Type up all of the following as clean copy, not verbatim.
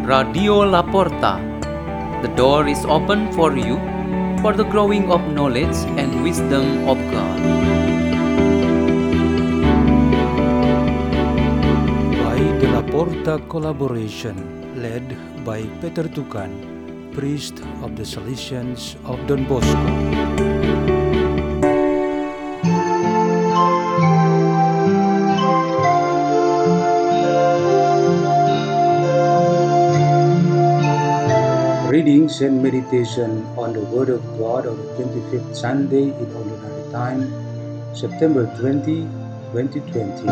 Radio Laporta. The door is open for you for the growing of knowledge and wisdom of God. By the Laporta collaboration, led by Peter Tukan, priest of the Salesians of Don Bosco. Readings and meditation on the Word of God on the 25th Sunday in Ordinary Time, September 20, 2020.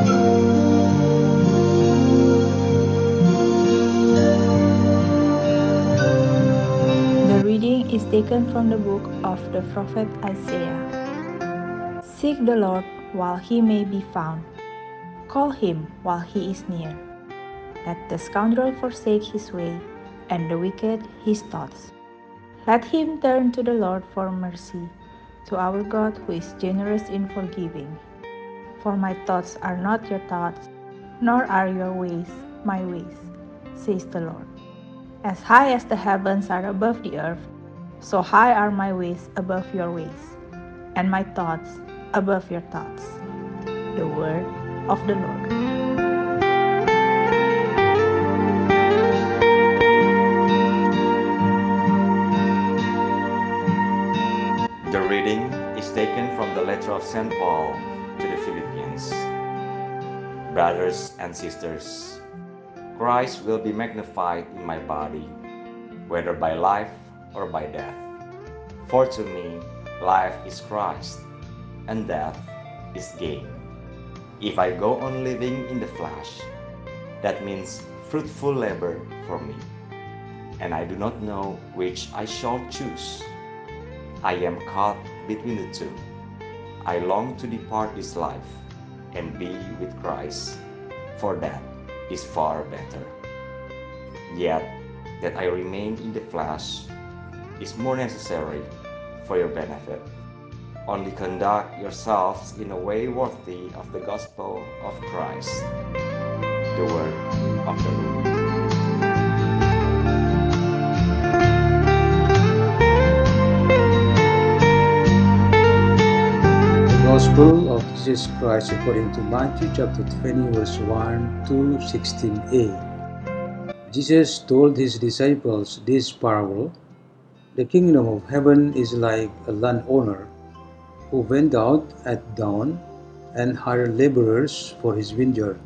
The reading is taken from the book of the prophet Isaiah. Seek the Lord while he may be found. Call him while he is near. Let the scoundrel forsake his way, and the wicked his thoughts. Let him turn to the Lord for mercy, to our God who is generous in forgiving. For my thoughts are not your thoughts, nor are your ways my ways, says the Lord. As high as the heavens are above the earth, so high are my ways above your ways, and my thoughts above your thoughts. The word of the Lord. The reading is taken from the letter of St. Paul to the Philippians. Brothers and sisters, Christ will be magnified in my body, whether by life or by death. For to me, life is Christ, and death is gain. If I go on living in the flesh, that means fruitful labor for me, and I do not know which I shall choose. I am caught between the two. I long to depart this life and be with Christ, for that is far better. Yet that I remain in the flesh is more necessary for your benefit. Only conduct yourselves in a way worthy of the gospel of Christ. The word of the Lord. Gospel of Jesus Christ according to Matthew chapter 20 verse 1 to 16a. Jesus told his disciples this parable. The kingdom of heaven is like a landowner who went out at dawn and hired laborers for his vineyard.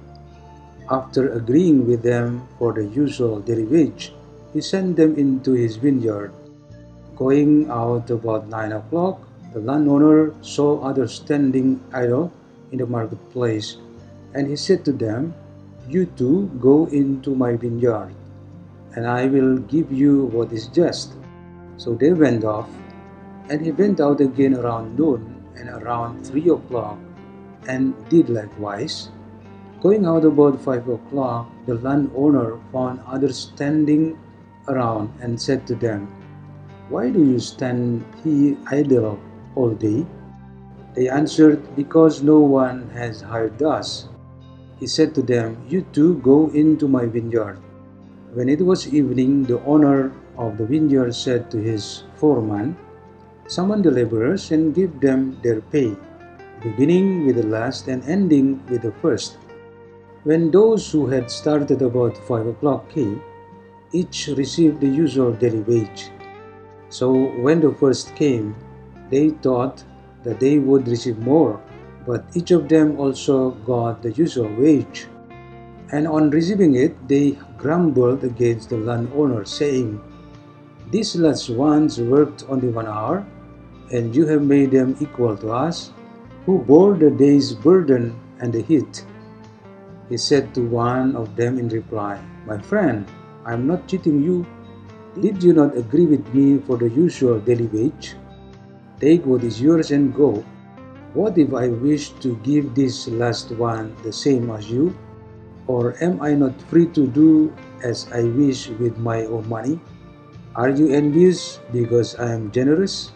After agreeing with them for the usual daily wage, he sent them into his vineyard. Going out about 9 o'clock, the landowner saw others standing idle in the marketplace, and he said to them, "You too go into my vineyard, and I will give you what is just." So they went off, and he went out again around noon and around 3 o'clock, and did likewise. Going out about 5 o'clock, the landowner found others standing around and said to them, "Why do you stand here idle all day?" They answered, "Because no one has hired us." He said to them, "You too go into my vineyard." When it was evening, the owner of the vineyard said to his foreman, "Summon the laborers and give them their pay, beginning with the last and ending with the first." When those who had started about 5 o'clock came, each received the usual daily wage. So when the first came, they thought that they would receive more, but each of them also got the usual wage. And on receiving it, they grumbled against the landowner, saying, "These last ones worked only 1 hour, and you have made them equal to us, who bore the day's burden and the heat." He said to one of them in reply, "My friend, I am not cheating you. Did you not agree with me for the usual daily wage? Take what is yours and go. What if I wish to give this last one the same as you? Or am I not free to do as I wish with my own money? Are you envious because I am generous?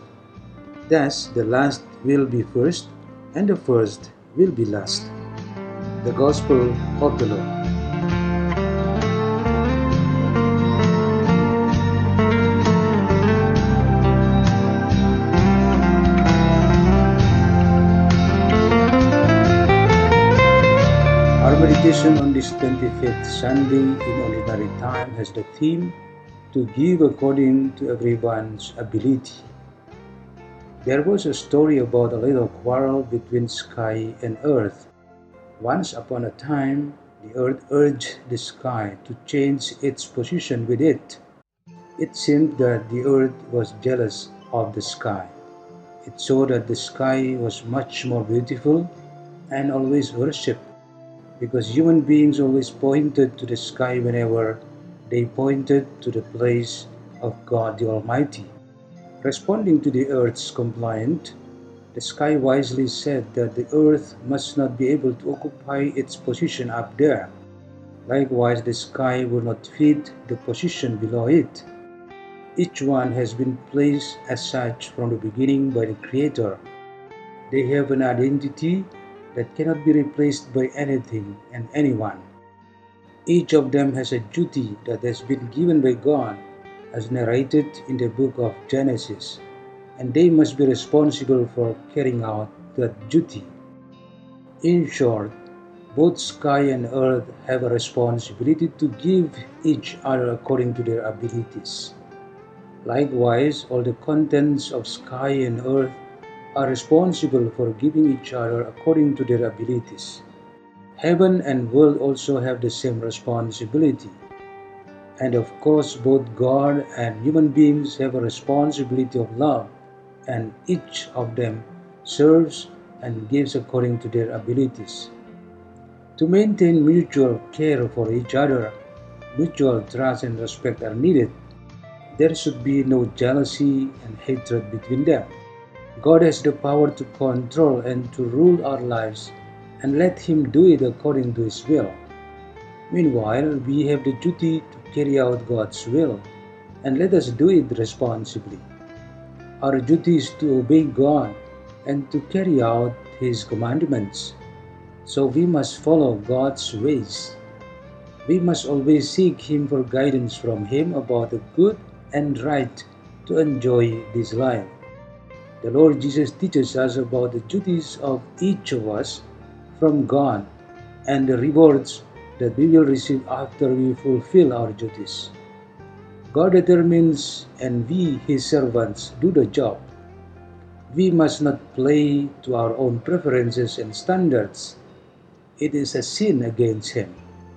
Thus the last will be first, and the first will be last." The Gospel of the Lord. meditation on this 25th Sunday in Ordinary Time has the theme, to give according to everyone's ability. There was a story about a little quarrel between sky and earth. Once upon a time, the earth urged the sky to change its position with it. It seemed that the earth was jealous of the sky. It saw that the sky was much more beautiful and always worshipped, because human beings always pointed to the sky whenever they pointed to the place of God the Almighty. Responding to the earth's complaint, the sky wisely said that the earth must not be able to occupy its position up there. Likewise, the sky will not fit the position below it. Each one has been placed as such from the beginning by the Creator. They have an identity that cannot be replaced by anything and anyone. Each of them has a duty that has been given by God, as narrated in the book of Genesis, and they must be responsible for carrying out that duty. In short, both sky and earth have a responsibility to give each other according to their abilities. Likewise, all the contents of sky and earth are responsible for giving each other according to their abilities. Heaven and world also have the same responsibility. And of course, both God and human beings have a responsibility of love, and each of them serves and gives according to their abilities. To maintain mutual care for each other, mutual trust and respect are needed. There should be no jealousy and hatred between them. God has the power to control and to rule our lives, and let Him do it according to His will. Meanwhile, we have the duty to carry out God's will, and let us do it responsibly. Our duty is to obey God and to carry out His commandments. So we must follow God's ways. We must always seek Him for guidance from Him about the good and right to enjoy this life. The Lord Jesus teaches us about the duties of each of us from God and the rewards that we will receive after we fulfill our duties. God determines, and we, His servants, do the job. We must not play to our own preferences and standards. It is a sin against Him.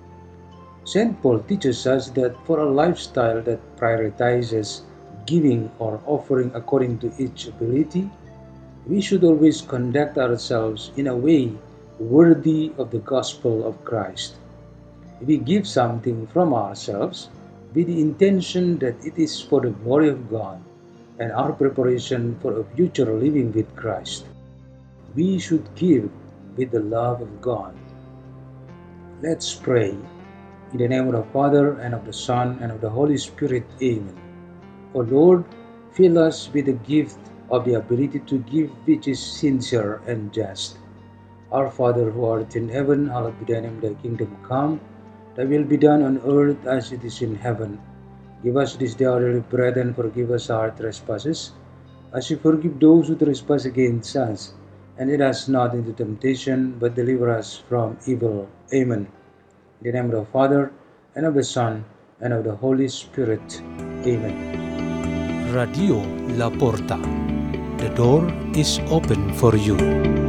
St. Paul teaches us that for a lifestyle that prioritizes giving or offering according to each ability, we should always conduct ourselves in a way worthy of the gospel of Christ. We give something from ourselves with the intention that it is for the glory of God and our preparation for a future living with Christ. We should give with the love of God. Let's pray. In the name of the Father, and of the Son, and of the Holy Spirit. Amen. O Lord, fill us with the gift of the ability to give which is sincere and just. Our Father who art in heaven, hallowed be thy name, thy kingdom come. Thy will be done on earth as it is in heaven. Give us this day our daily bread, and forgive us our trespasses, as we forgive those who trespass against us. And lead us not into temptation, but deliver us from evil. Amen. In the name of the Father, and of the Son, and of the Holy Spirit. Amen. Radio La Porta. The door is open for you.